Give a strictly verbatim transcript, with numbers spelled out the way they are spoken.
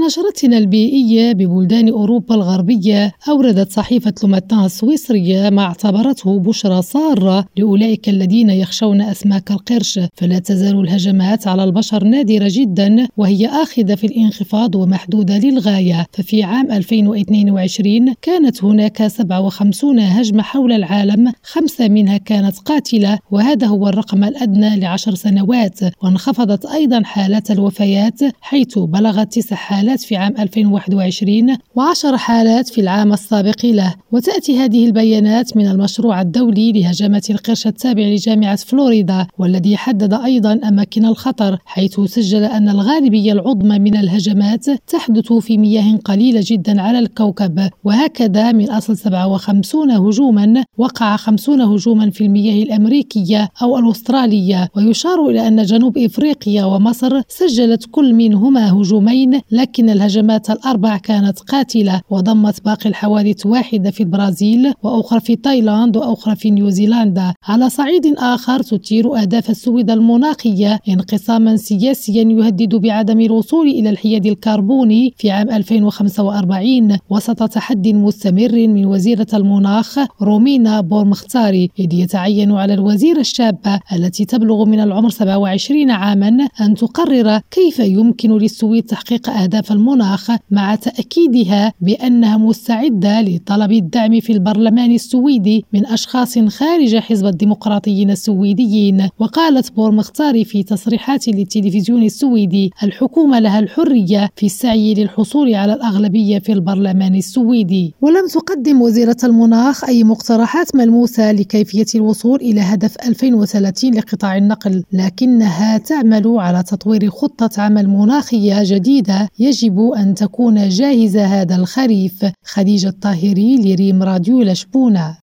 نشرتنا البيئية ببلدان أوروبا الغربية، أوردت صحيفة لوماتان السويسرية ما اعتبرته بشرى سارة لأولئك الذين يخشون أسماك القرش. فلا تزال الهجمات على البشر نادرة جدا، وهي آخذة في الانخفاض ومحدودة للغاية. ففي عام ألفين واثنين وعشرين كانت هناك سبعة وخمسين هجمة حول العالم، خمسة منها كانت قاتلة، وهذا هو الرقم الأدنى لعشر سنوات. وانخفضت أيضا حالات الوفيات، حيث بلغت تسع حالات في عام ألفين وواحد وعشرين وعشر حالات في العام السابق له. وتأتي هذه البيانات من المشروع الدولي لهجمة القرش التابع لجامعة فلوريدا، والذي حدد أيضا أماكن الخطر، حيث سجل أن الغالبية العظمى من الهجمات تحدث في مياه قليلة جدا على الكوكب. وهكذا من أصل سبعة وخمسين هجوما وقع خمسون هجوما في المياه الأمريكية أو الأسترالية. ويشار إلى أن جنوب إفريقيا ومصر سجلت كل منهما هجومين، لكن الهجمات الأربع كانت قاتلة، وضمت باقي الحوادث واحدة في البرازيل وأخرى في تايلاند وأخرى في نيوزيلندا. على صعيد آخر تثير أهداف السويد المناخية انقساما سياسيا يهدد بعدم الوصول إلى الحياد الكربوني في عام ألفين وخمسة وأربعين وسط تحدي مستمر من وزيرة المناخ رومينا بورمختاري، إذ يتعين على الوزيرة الشابة التي تبلغ من العمر سبعة وعشرين عاما أن تقرر كيف يمكن للسويد تحقيق أهداف المناخ، مع تأكيدها بأنها مستعدة لطلب الدعم في البرلمان السويدي من أشخاص خارج حزب الديمقراطيين السويديين. وقالت بورمختاري في تصريحات للتلفزيون السويدي: الحكومة لها الحرية في السعي للحصول على الأغلبية في البرلمان السويدي. ولم تقدم وزيرة المناخ أي مقترحات ملموسة لكيفية الوصول إلى هدف ألفين وثلاثين لقطاع النقل، لكنها تعمل على تطوير خطة عمل مناخية جديدة يجب أن تكون جاهزة هذا الخريف. خديجة الطاهري لريم راديو لشبونة.